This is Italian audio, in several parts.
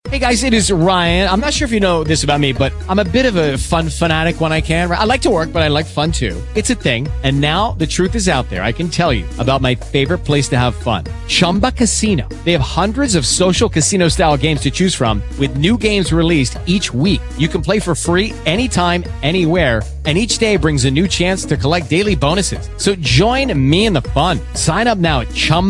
Hey guys, it is Ryan. I'm not sure if you know this about me, but I'm a bit of a fun fanatic when I can. I like to work, but I like fun too. It's a thing. And now the truth is out there. I can tell you about my favorite place to have fun. Chumba Casino. They have hundreds of social casino style games to choose from with new games released each week. You can play for free anytime, anywhere. And each day brings a new chance to collect daily bonuses. So join me in the fun. Sign up now at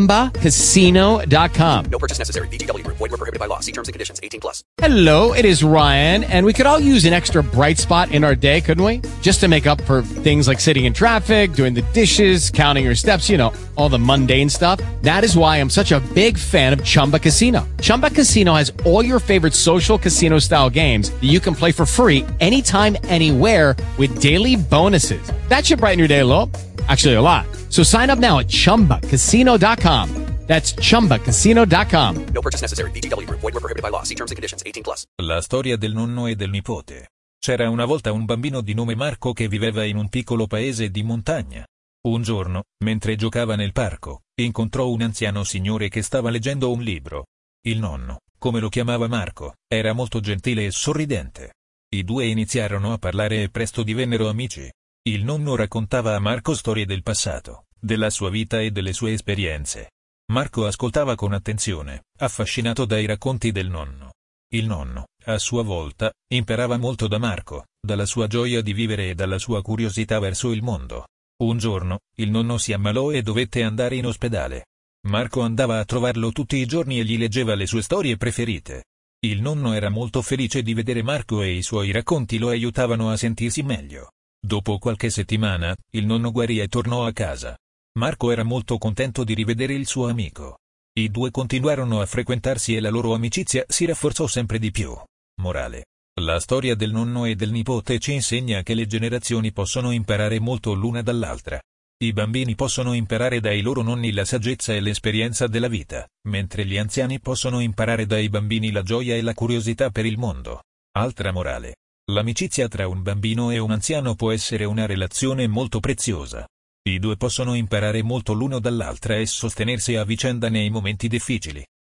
ChumbaCasino.com. No purchase necessary. VGW Group. Void where prohibited by law. See terms and conditions. 18+. Hello, it is Ryan, and we could all use an extra bright spot in our day, couldn't we? Just to make up for things like sitting in traffic, doing the dishes, counting your steps, you know, all the mundane stuff. That is why I'm such a big fan of Chumba Casino. Chumba Casino has all your favorite social casino-style games that you can play for free anytime, anywhere with daily bonuses. That should brighten your day a little. Actually, a lot. So sign up now at ChumbaCasino.com. That's ChumbaCasino.com. No purchase necessary. VGW Group. Void where prohibited by law. See terms and conditions. 18+. La storia del nonno e del nipote. C'era una volta un bambino di nome Marco che viveva in un piccolo paese di montagna. Un giorno, mentre giocava nel parco, incontrò un anziano signore che stava leggendo un libro. Il nonno, come lo chiamava Marco, era molto gentile e sorridente. I due iniziarono a parlare e presto divennero amici. Il nonno raccontava a Marco storie del passato, della sua vita e delle sue esperienze. Marco ascoltava con attenzione, affascinato dai racconti del nonno. Il nonno, a sua volta, imparava molto da Marco, dalla sua gioia di vivere e dalla sua curiosità verso il mondo. Un giorno, il nonno si ammalò e dovette andare in ospedale. Marco andava a trovarlo tutti i giorni e gli leggeva le sue storie preferite. Il nonno era molto felice di vedere Marco e i suoi racconti lo aiutavano a sentirsi meglio. Dopo qualche settimana, il nonno guarì e tornò a casa. Marco era molto contento di rivedere il suo amico. I due continuarono a frequentarsi e la loro amicizia si rafforzò sempre di più. Morale. La storia del nonno e del nipote ci insegna che le generazioni possono imparare molto l'una dall'altra. I bambini possono imparare dai loro nonni la saggezza e l'esperienza della vita, mentre gli anziani possono imparare dai bambini la gioia e la curiosità per il mondo. Altra morale. L'amicizia tra un bambino e un anziano può essere una relazione molto preziosa. I due possono imparare molto l'uno dall'altra e sostenersi a vicenda nei momenti difficili.